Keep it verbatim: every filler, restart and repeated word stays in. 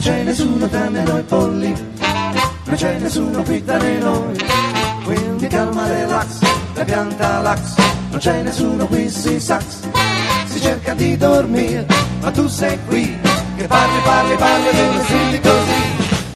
c'è nessuno tranne noi polli, non c'è nessuno qui tra noi, quindi calma, relax, la pianta lax, non c'è nessuno qui, si sax, si cerca di dormire, ma tu sei qui, che parli, parli, parli, e non senti così.